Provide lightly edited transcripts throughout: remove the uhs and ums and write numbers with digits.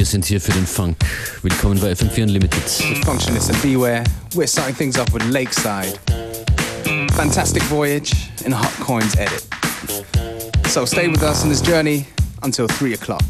sind hier für den Funk. Willkommen bei FM4 Unlimited. With Functionist and Beware, we're starting things off with Lakeside. Fantastic Voyage in a Hot Coins edit. So stay with us on this journey until 3 o'clock.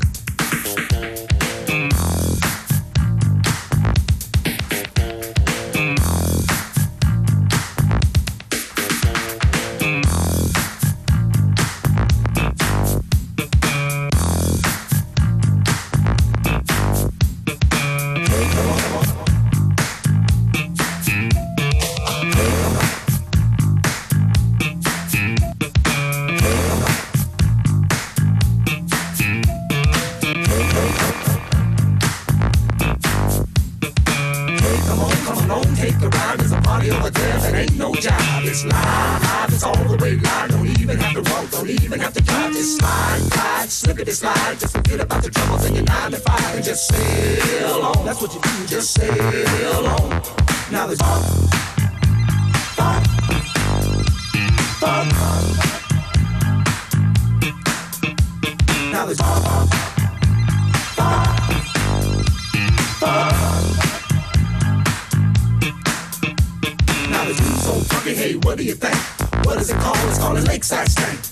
Just sail on. That's what you do. Just sail on. Now there's fun. Now there's fun. Now there's food so funky. Hey, what do you think? What is it called? It's called a Lakeside Stank.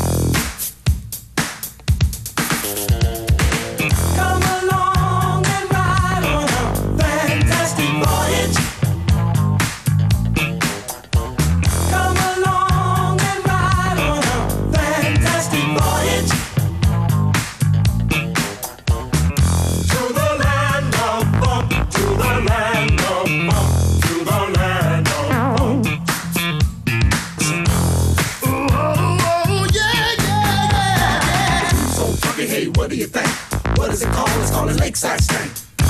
Lakeside Stank.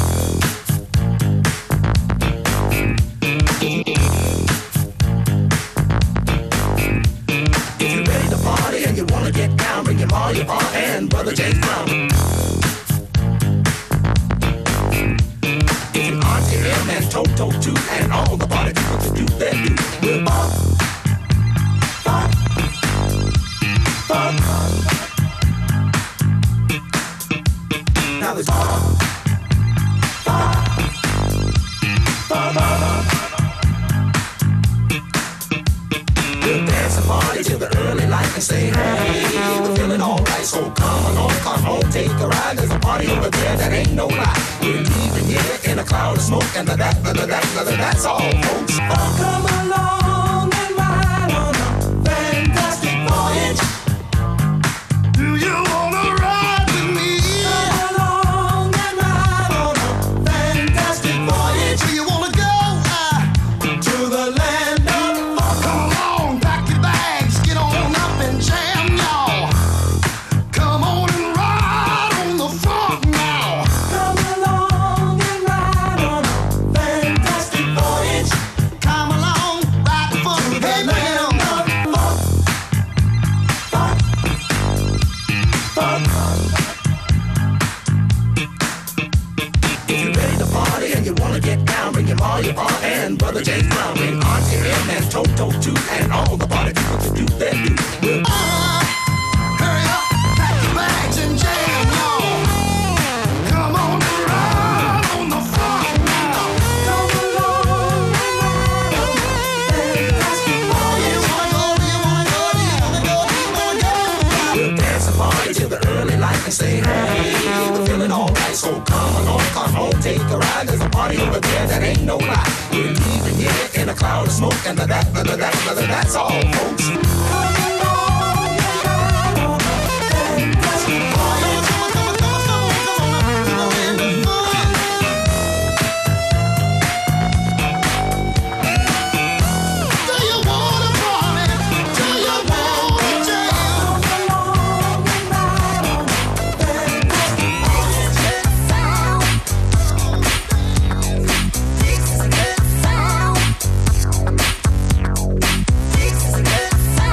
If you're ready to party and you wanna get down, bring your ma, your pa, and Brother James Brown. If your auntie, him, and Toto too, and all the party people to do their do, we'll bop, bop, bop. Now there's bop. We'll dance and party till the early light and say, hey, we're feeling alright, so come along, come home, take a ride. There's a party over there that ain't no lie. We're leaving here in a cloud of smoke, and that's all, folks. Oh, come along and ride on a fantastic voyage. Do you wanna ride with me? Come along and ride on a fantastic voyage. Do you wanna go to the land of fun? Come along, pack your bags, get on up and jam, y'all. Come on and ride on the funk now. Come along and ride on a fantastic voyage. Come along, ride the funk to the land of fun. Fun, fun, fun. If you're ready to party and you wanna get down, bring your ma, your pa, and Brother James Brown, bring Auntie Em and Toto too, and all the party people to do their do. We'll hurry up, pack your bags and jam, y'all. Come on and ride on the funk now. Come along and ride on the fantastic voyage. Do you wanna go? Do you wanna go? Do you wanna go? Do you wanna go? We'll dance and party till the early light and say, hey, we're feeling alright, so come along, come home, take a ride. There's a party over there that ain't no lie. We're leaving here in a cloud of smoke, and that's all, folks. Come along and ride on a fantastic voyage. Come on, in the fun. Do you wanna party? Do you wanna jam? Come along and ride on a fantastic voyage. This is a good sound. This is a good sound.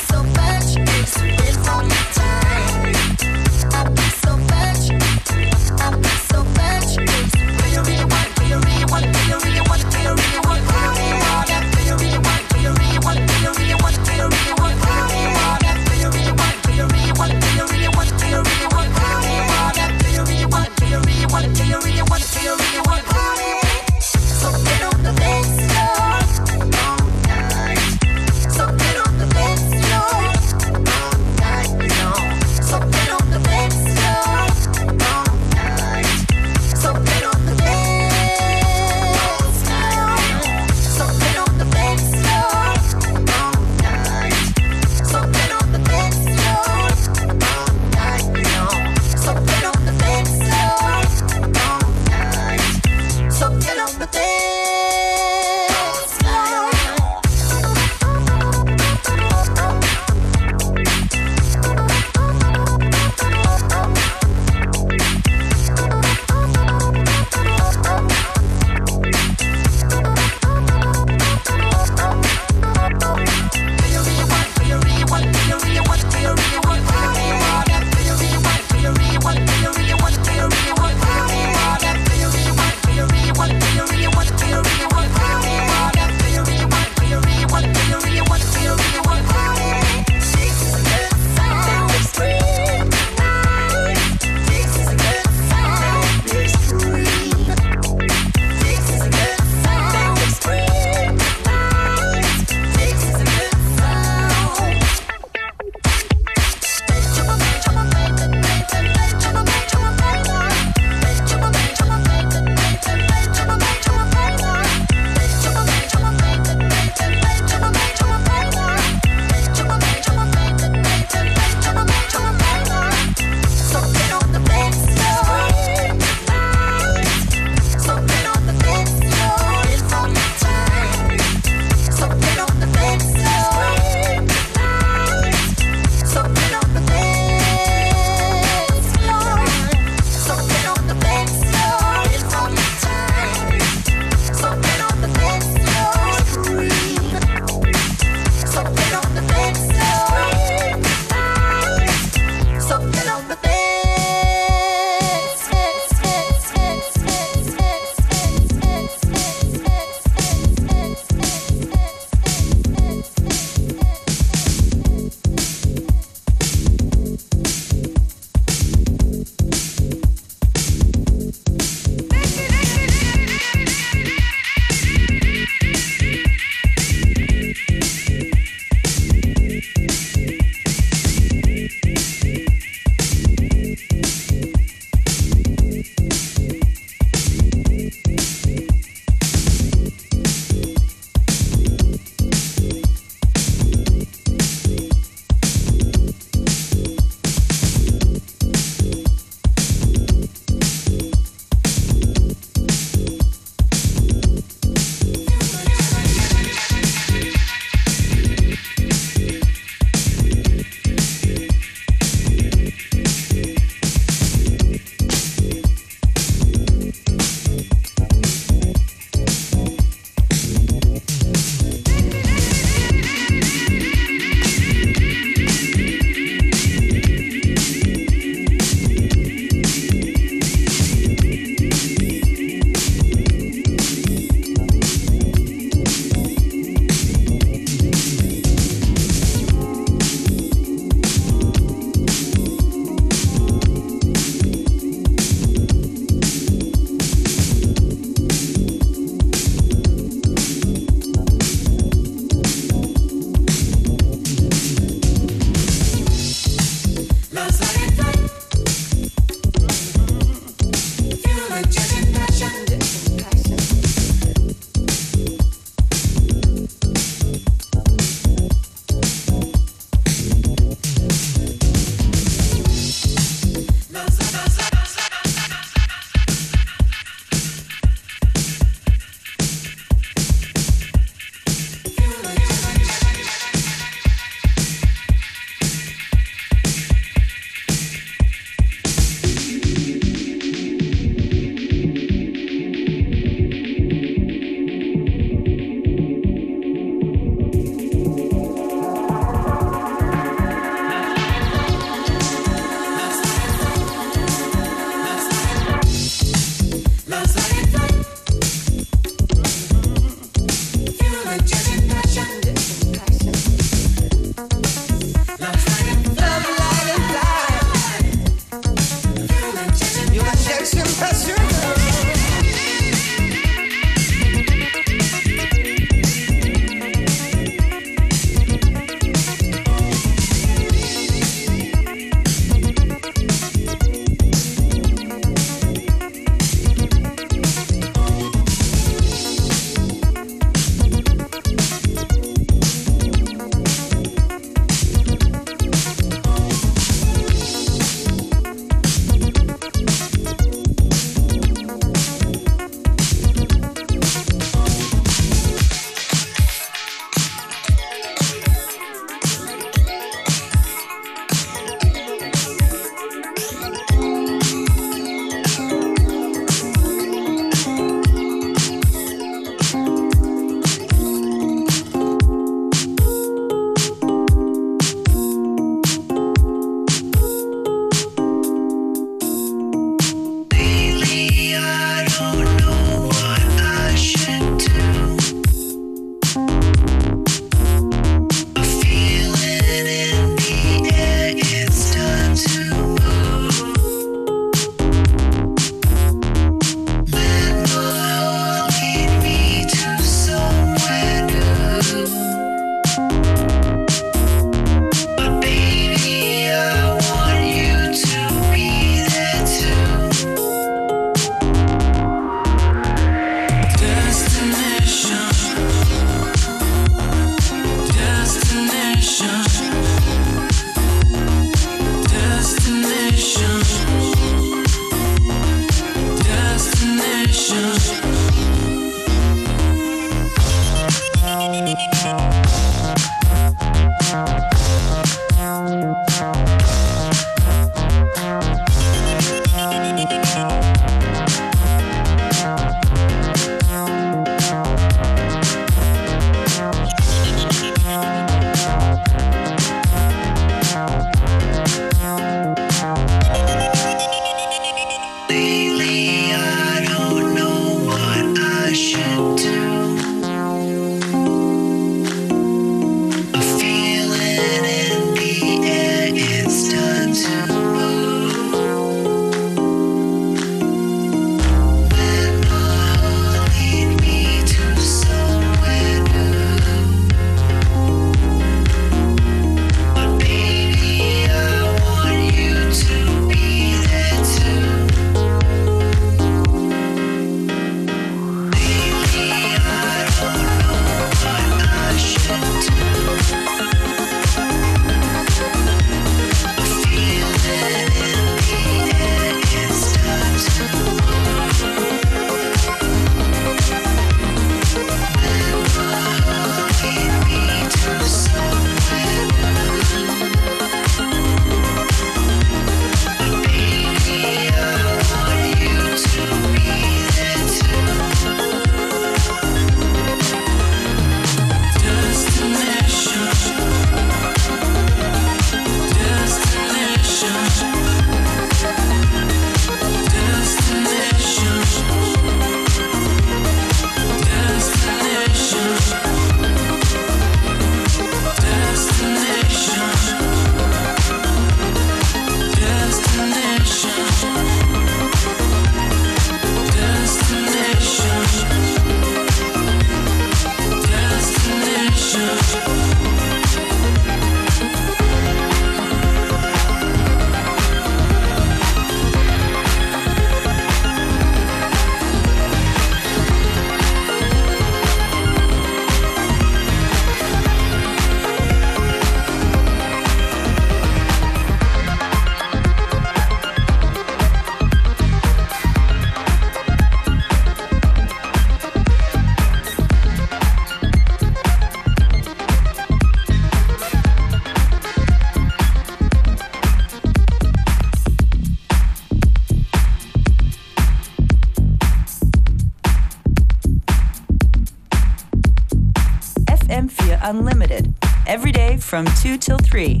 Unlimited, every day from 2 till 3.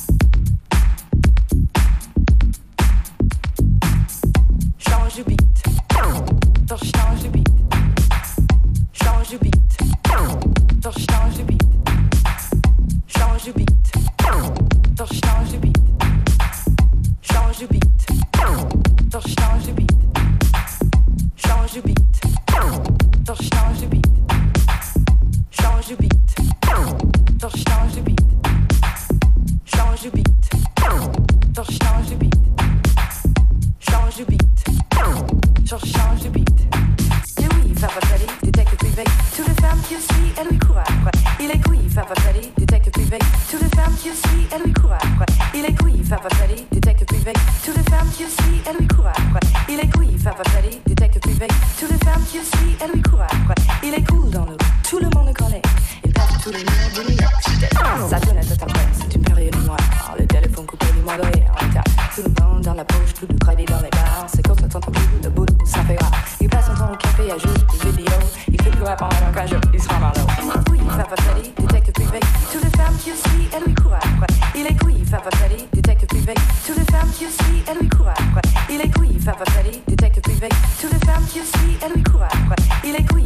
Change de beat. Doch change de beat. Change de beat. Doch change de beat. Change de beat. Doch change de beat. Change de beat. Doch change de beat. Change de beat. Doch change de beat. Change de beat. Doch change de beat. Change de beat. Doch change de beat. Change de beat. Doch change de beat. Et oui, Papa Freddy, détective privé. Toutes les femmes qui le suivent, elles lui courent après. Il est couilles, Papa Freddy, détective privé. Toutes les femmes qui le suivent, elles lui courent après. Il est couilles, Papa Freddy, détective privé. Toutes les femmes qui le suivent, elles lui courent après. Il est couilles, Papa Freddy, détective privé. Toutes les femmes qui le suivent, elles lui courent après. Il est cool dans le tout le monde le connaît. Il passe tous les murs de New York City. Sa sonnette est après, c'est une période noire. Le téléphone coupé du mois de rire. Tout le monde dans la poche, plus de crédit dans les bars. C'est quand ça t'entend plus de boulot, ça fait rare. Il passe son temps au café à jouer des vidéos. Il fait plus répondre à un cage, il se rend marlot. Oui, Papa Freddy, détective privé. Toutes les femmes qui le suivent, elles lui courent après. Il est couilles, Papa Freddy, détective privé. Toutes les femmes qui le suivent, elles lui courent après. Il est couilles, Papa Freddy, détective privé. Toutes les femmes qui le suivent, elles lui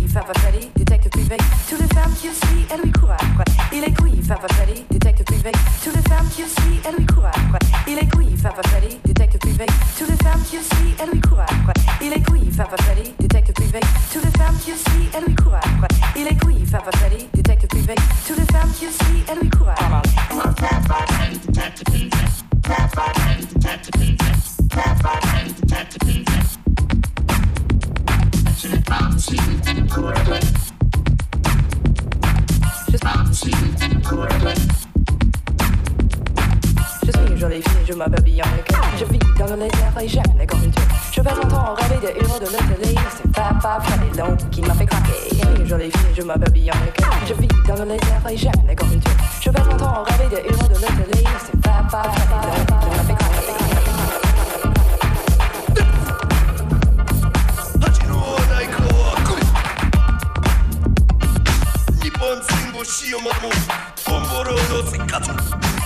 Papa Freddy, détective privé. Toutes les femmes qui le suivent, elles lui courent après. Il est couilles, Papa Freddy, détective privé. Toutes les femmes qui le suivent, elles lui courent après. Il est couilles, Papa Freddy, détective privé. Toutes les femmes qui le suivent, elles lui courent après. Il est couilles, Papa Freddy, détective privé. Toutes les femmes qui le suivent, elles lui courent après. Il est couilles, Papa Freddy, détective privé. Toutes les femmes qui le suivent, elles lui courent après. Je suis une jolie fille, je m'appelle Bianca. Je vis dans le laser et j'aime les conducteurs. Je passe mon temps à rêver des héros de la télé. C'est Papa Freddy Long qui m'a fait craquer. Je suis une jolie fille, je m'appelle Bianca. Je vis dans le laser et j'aime les conducteurs. Je passe mon temps à rêver des héros de la télé. C'est Papa Freddy Long qui m'a fait craquer. しようまもボンボローのせっかつよ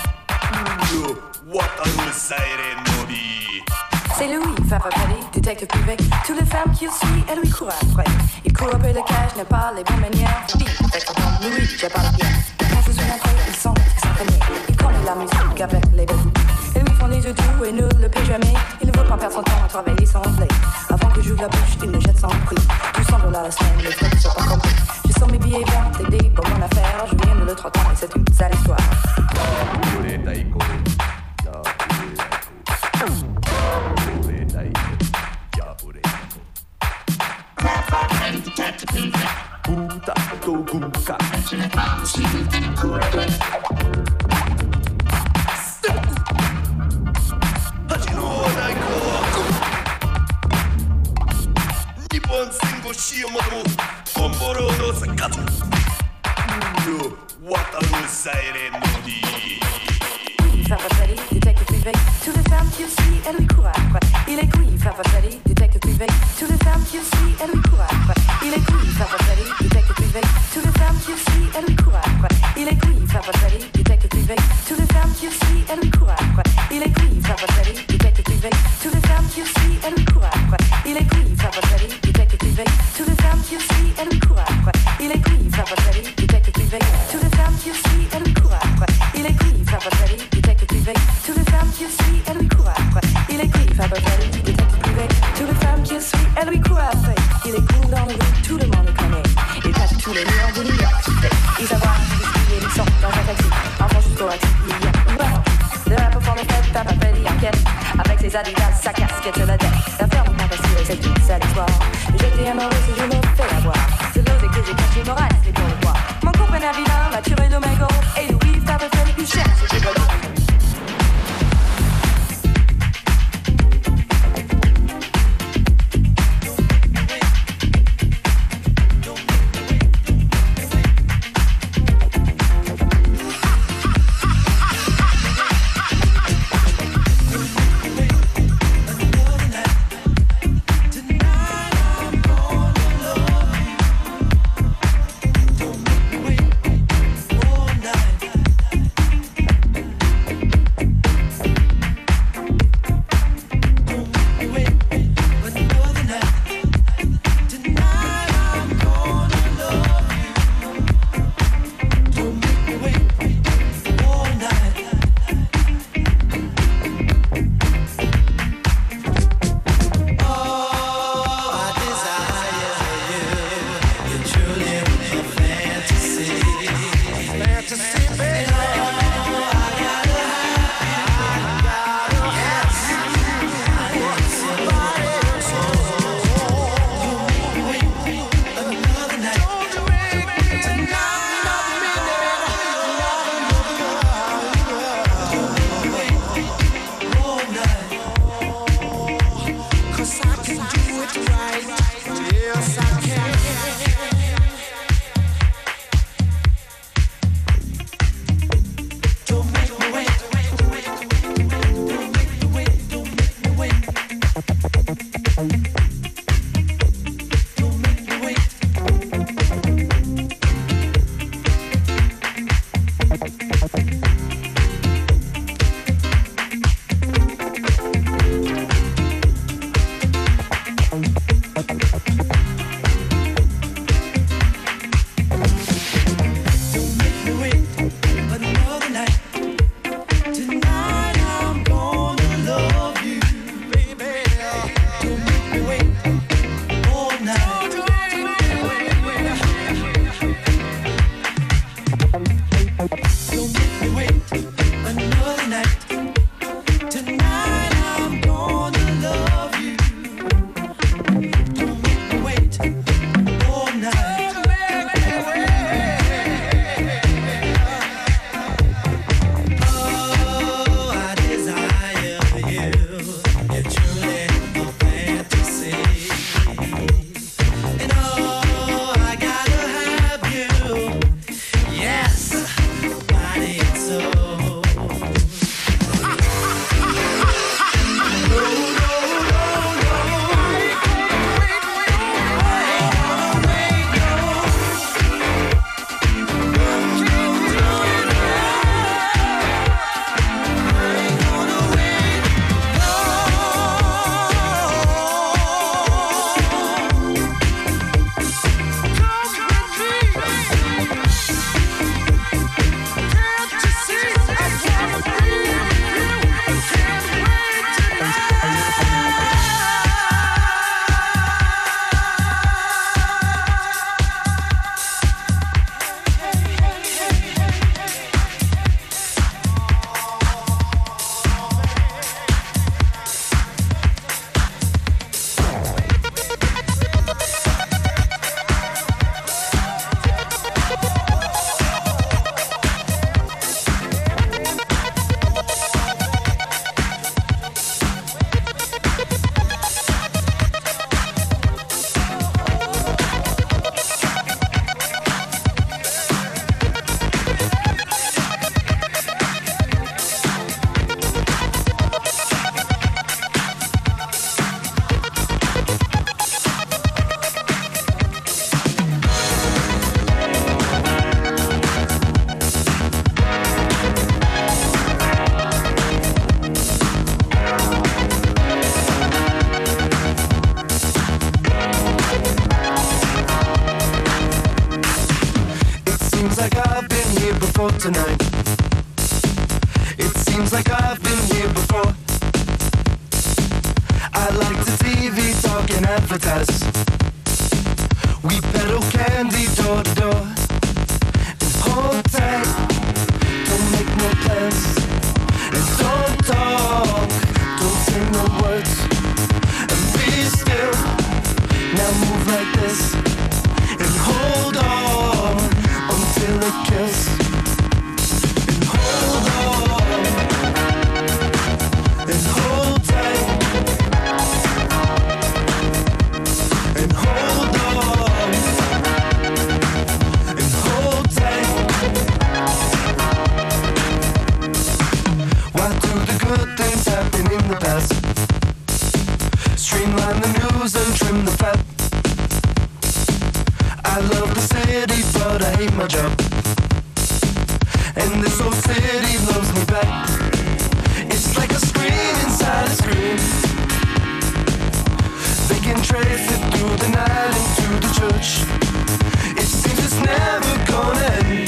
渡るサイレンのビ C'est Louis, Papa Freddy, détective privé. Toutes les femmes qui le suivent, elles lui courent après. Il court après le cash, n'a pas les bonnes manières. Je dis, avec son nom, Louis, j'ai pas la pierre. Quand je suis entré, ils sont s'entraîner. Il connaît la musique avec les bébés. Ils lui font des yeux doux et ne le paient jamais. Il ne veut pas perdre son temps à travailler sans blé. Avant que j'ouvre la bouche, il me jette sans prix. $200 la semaine, les frais ne sont pas compris. Je sens mes billets verts, t'aider pour mon affaire. Je viens de le 30 ans et c'est une sale histoire. Papa Freddy, détective privé. Toutes les femmes qui le suivent, elles lui courent après. Il est couilles, Papa Freddy, détective privé. Toutes les femmes qui le suivent, elles lui courent après. Il est couilles, Papa Freddy, détective privé. Toutes les femmes qui le suivent, elles lui courent après. Il est couilles, Papa Freddy, détective privé. Toutes les femmes qui le suivent, elles lui courent après. Il est couilles, Papa Freddy, détective privé. Toutes les femmes qui le suivent, elles lui courent après. Il est couilles, Papa Freddy, détective privé. Toutes les femmes qui le suivent, elles lui courent après. Il est couilles, Papa Freddy, détective privé. Toutes les femmes qui le suivent, elles lui courent après. Il est couilles, Papa Freddy, détective privé. Toutes les femmes qui le suivent, elles lui courent après. Il est couilles, Papa Freddy, détective privé. Toutes les femmes qui le suivent, elles lui courent après. Il est cool dans le rue, tout le monde le connaît. Il passe tous les murs de New York City. Il savoir qu'il est sort dans un taxi. Enfant jusqu'au taxi, il y a une barre. Le rap pour les fêtes, Papa Freddy enquête. Avec ses adidas, sa casquette sur la tête. La ferme n'est pas facile, c'est une sale histoire. J'étais amoureux si je me fais avoir. C'est l'ose que j'ai caché, Moral, c'est pour le voir. Mon compagnon vilain m'a tué de mes gros. Et Louis, Papa Freddy, plus cher, c'est pas lui. Tonight I'm falling in love. tonight. It seems like I've been here before. I like the TV talk and advertise. We peddle candy door to door. And hold tight, don't make no plans. And don't talk, don't say no words. And be still, now move like this. And hold on until it kills. And hold on, and hold tight. And hold on, and hold tight. Why do the good things happen in the past? Streamline the news and trim the fat. I love the city, but I hate my job. And this old city loves me back. It's like a screen inside a screen. They can trace it through the night into the church. It seems it's never gonna end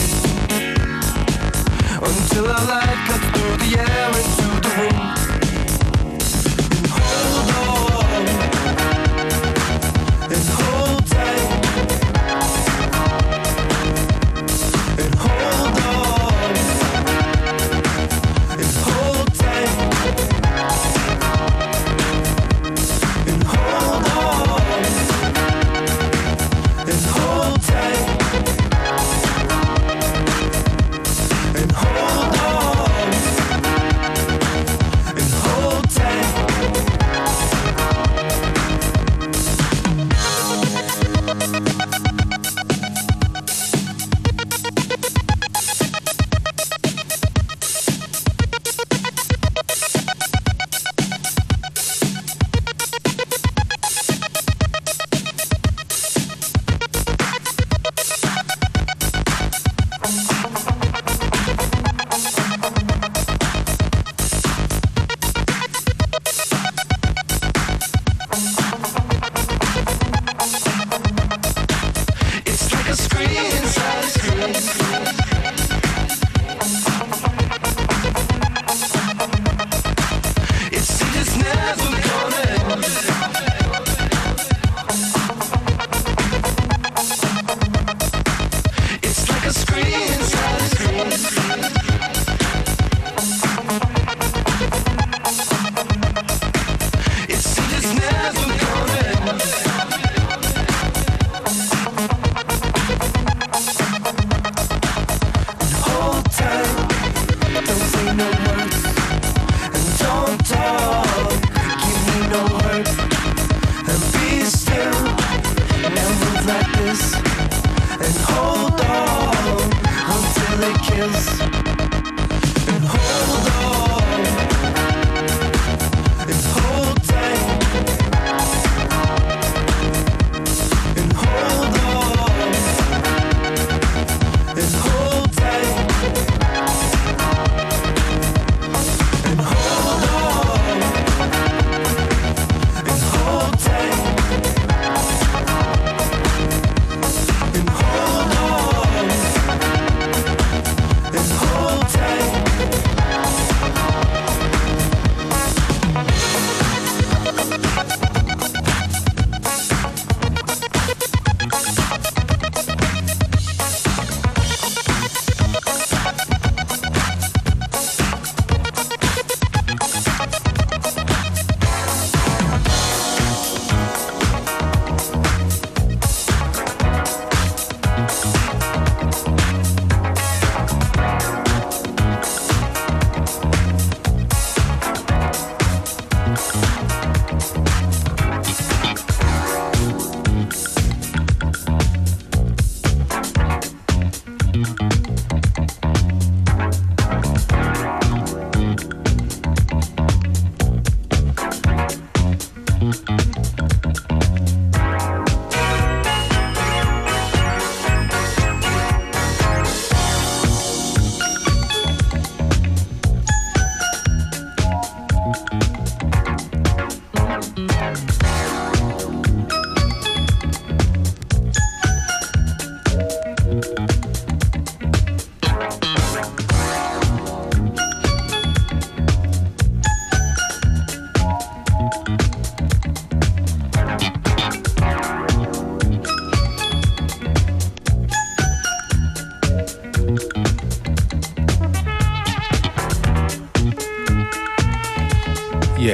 until our light cuts through the air into the room. And hold on, and hold tight. And hold on, and hold tight. And hold on, and hold tight. And hold on, and hold tight. It's like a screen inside a screen. It seems it's never gonna end. It's like a screen inside a screen. It seems it's never gonna end. Hold tight, don't say no words. And don't talk, give me no hurt. And be still, now move like this. And hold on until it kills. And hold on, and hold tight. And hold on, and hold tight. And hold on, and hold tight. And hold on, and hold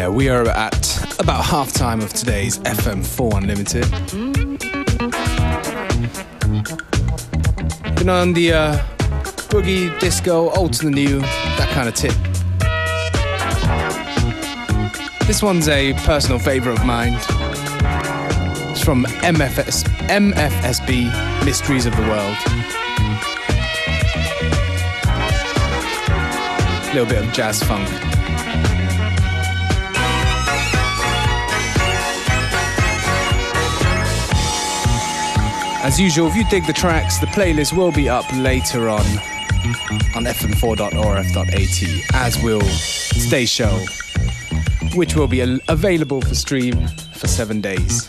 Yeah, we are at about half-time of today's FM4 Unlimited. Been on the boogie, disco, old to the new, that kind of tip. This one's a personal favourite of mine. It's from MFSB, Mysteries of the World. A little bit of jazz funk. As usual, if you dig the tracks, the playlist will be up later on fm4.orf.at, as will today's show, which will be available for stream for 7 days.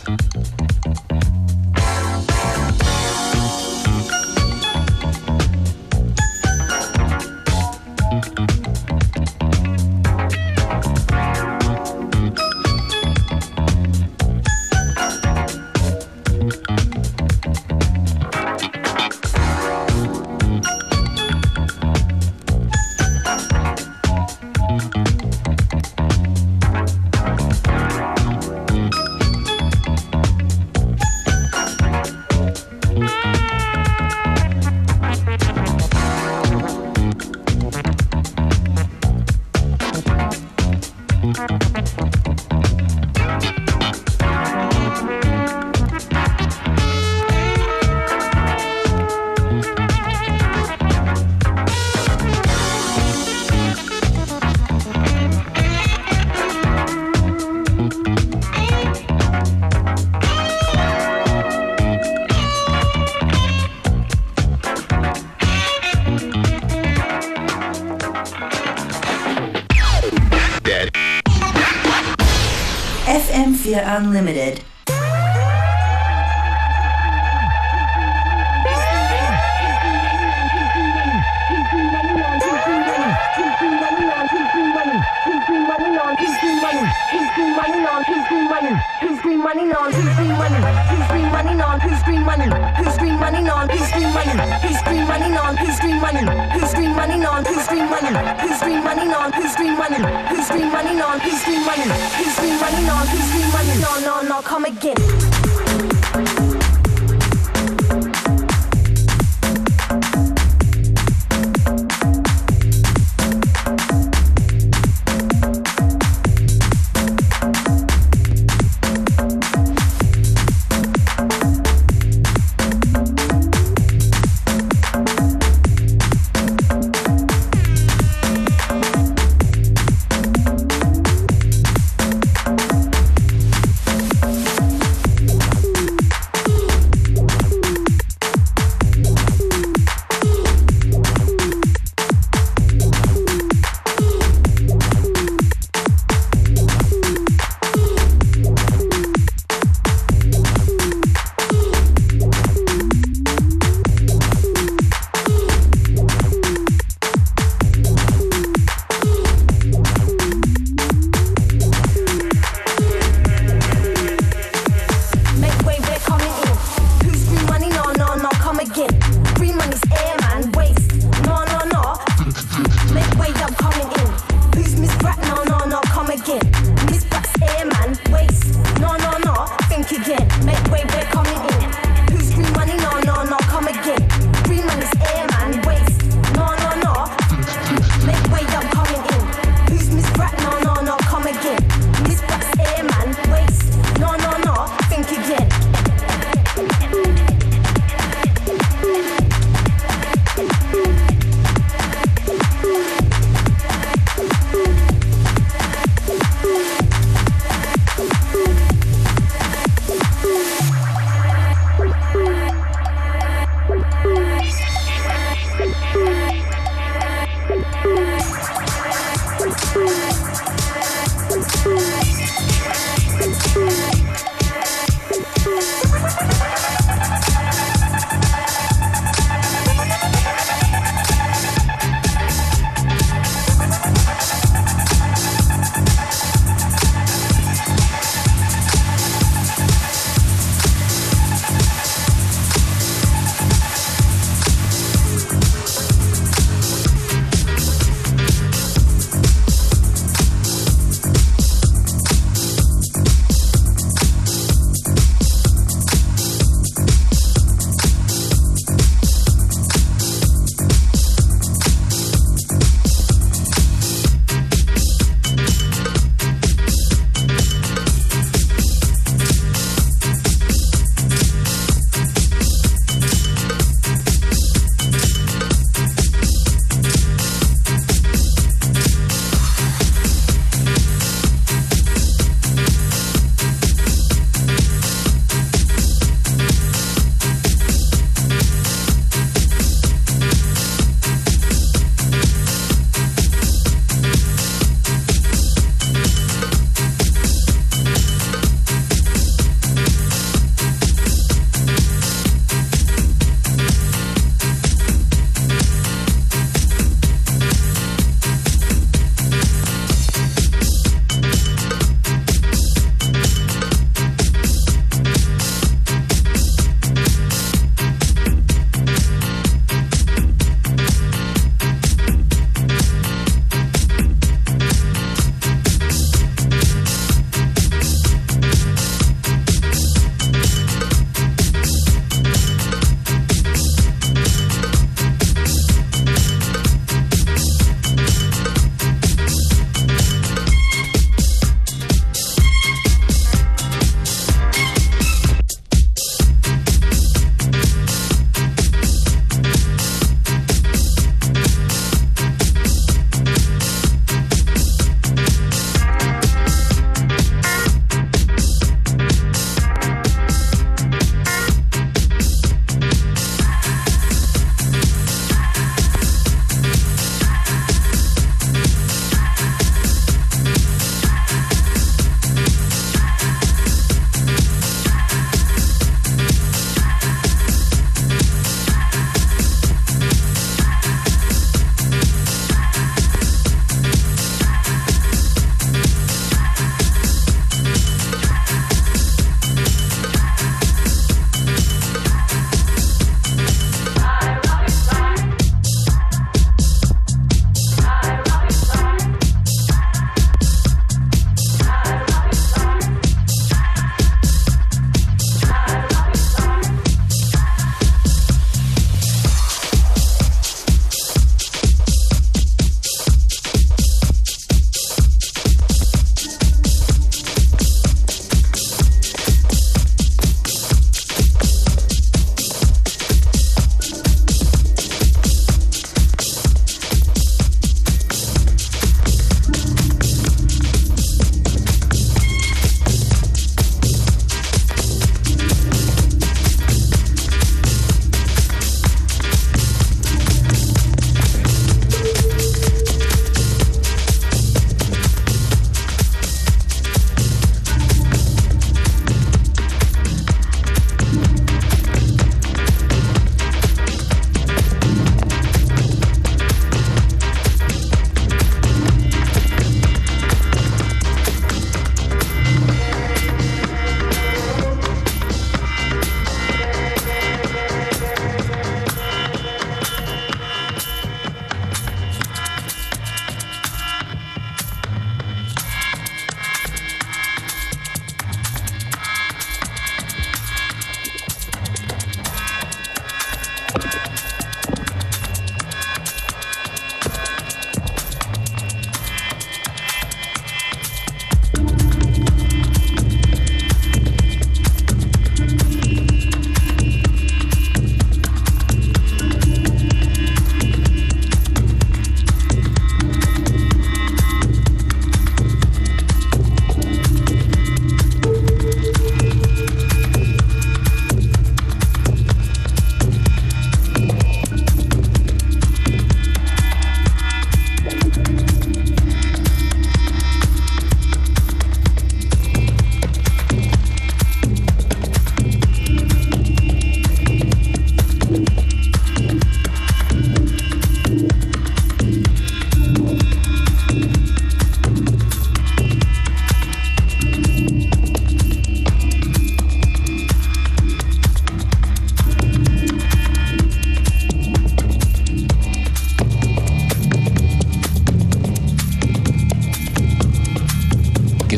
FM4 Unlimited. No, come again.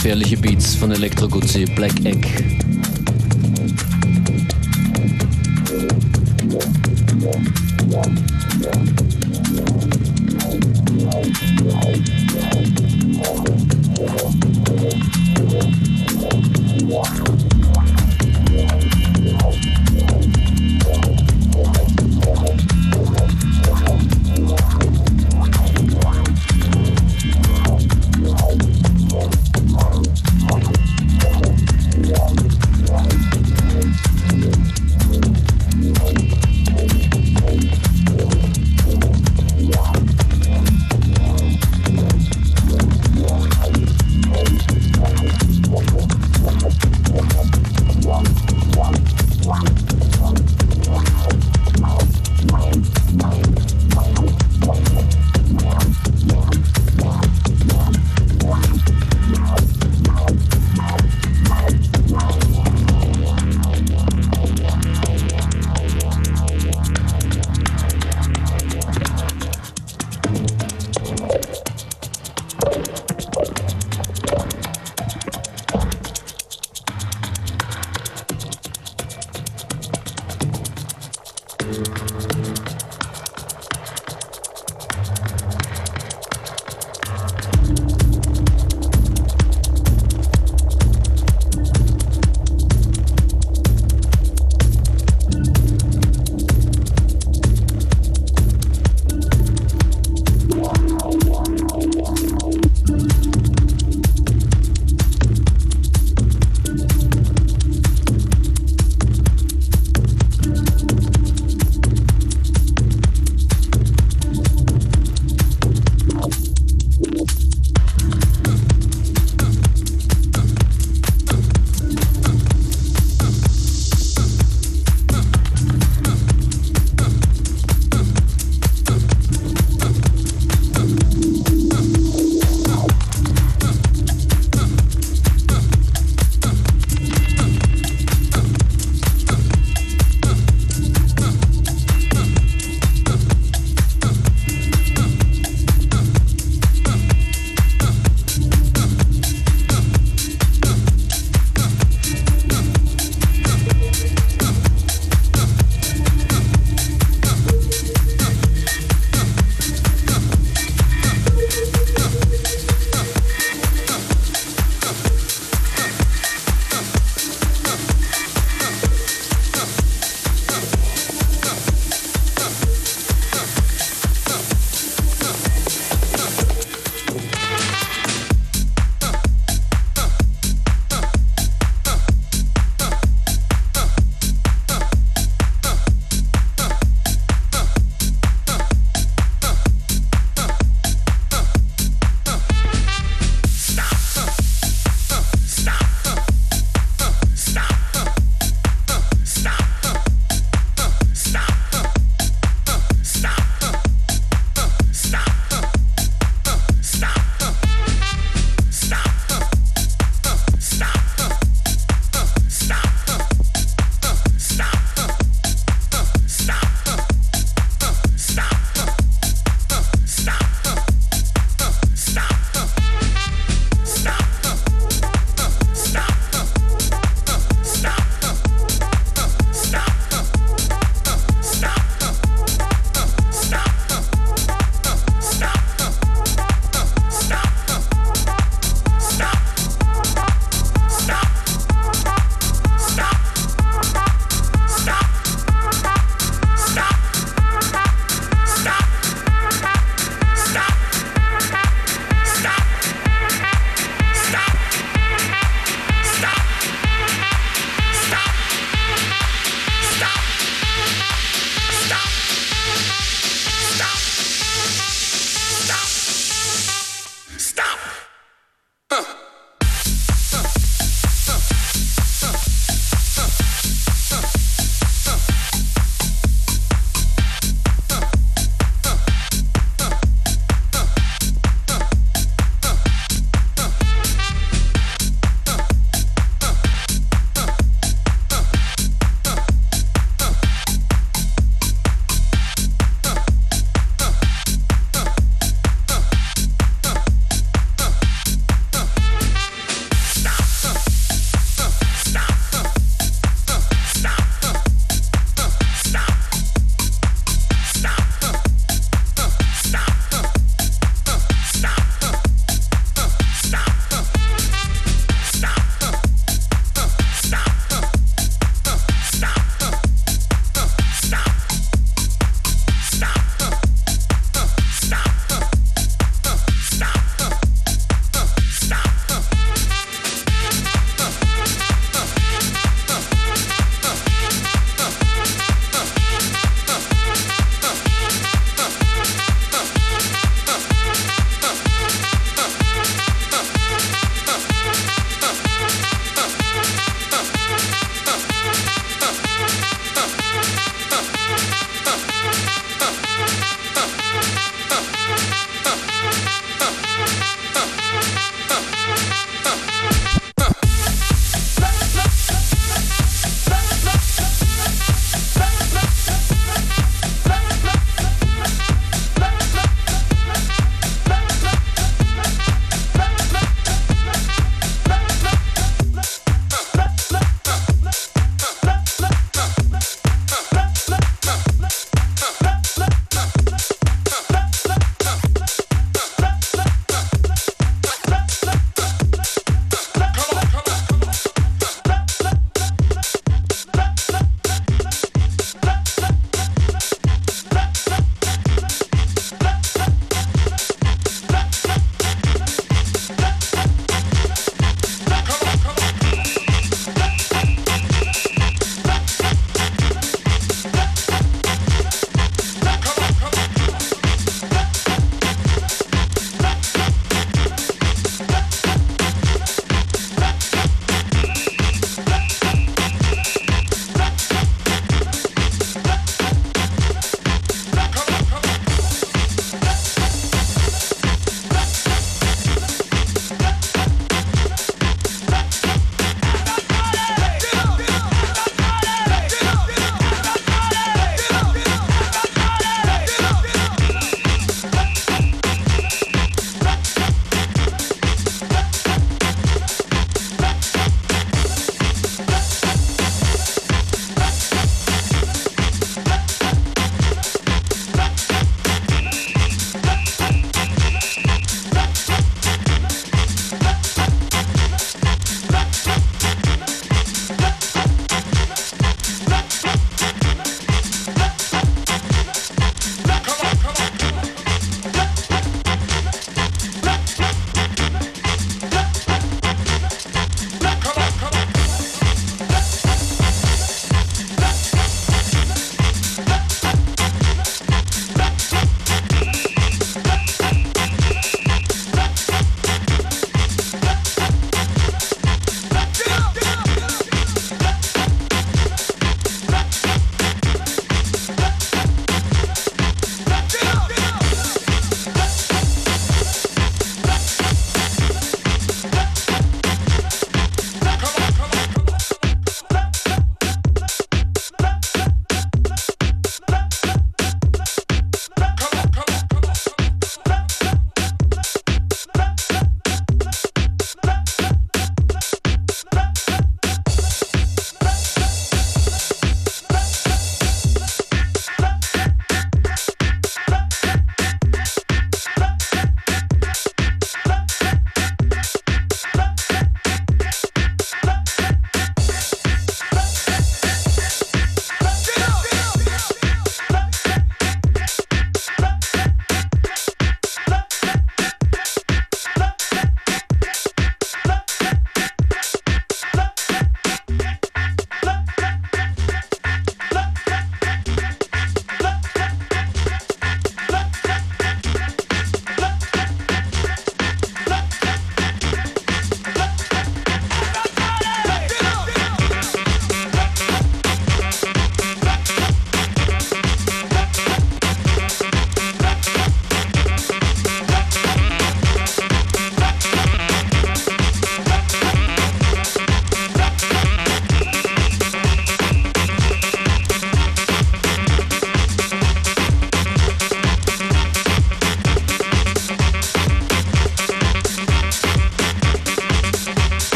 Gefährliche Beats von Elektro Guzzi, Black Egg.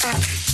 Bye.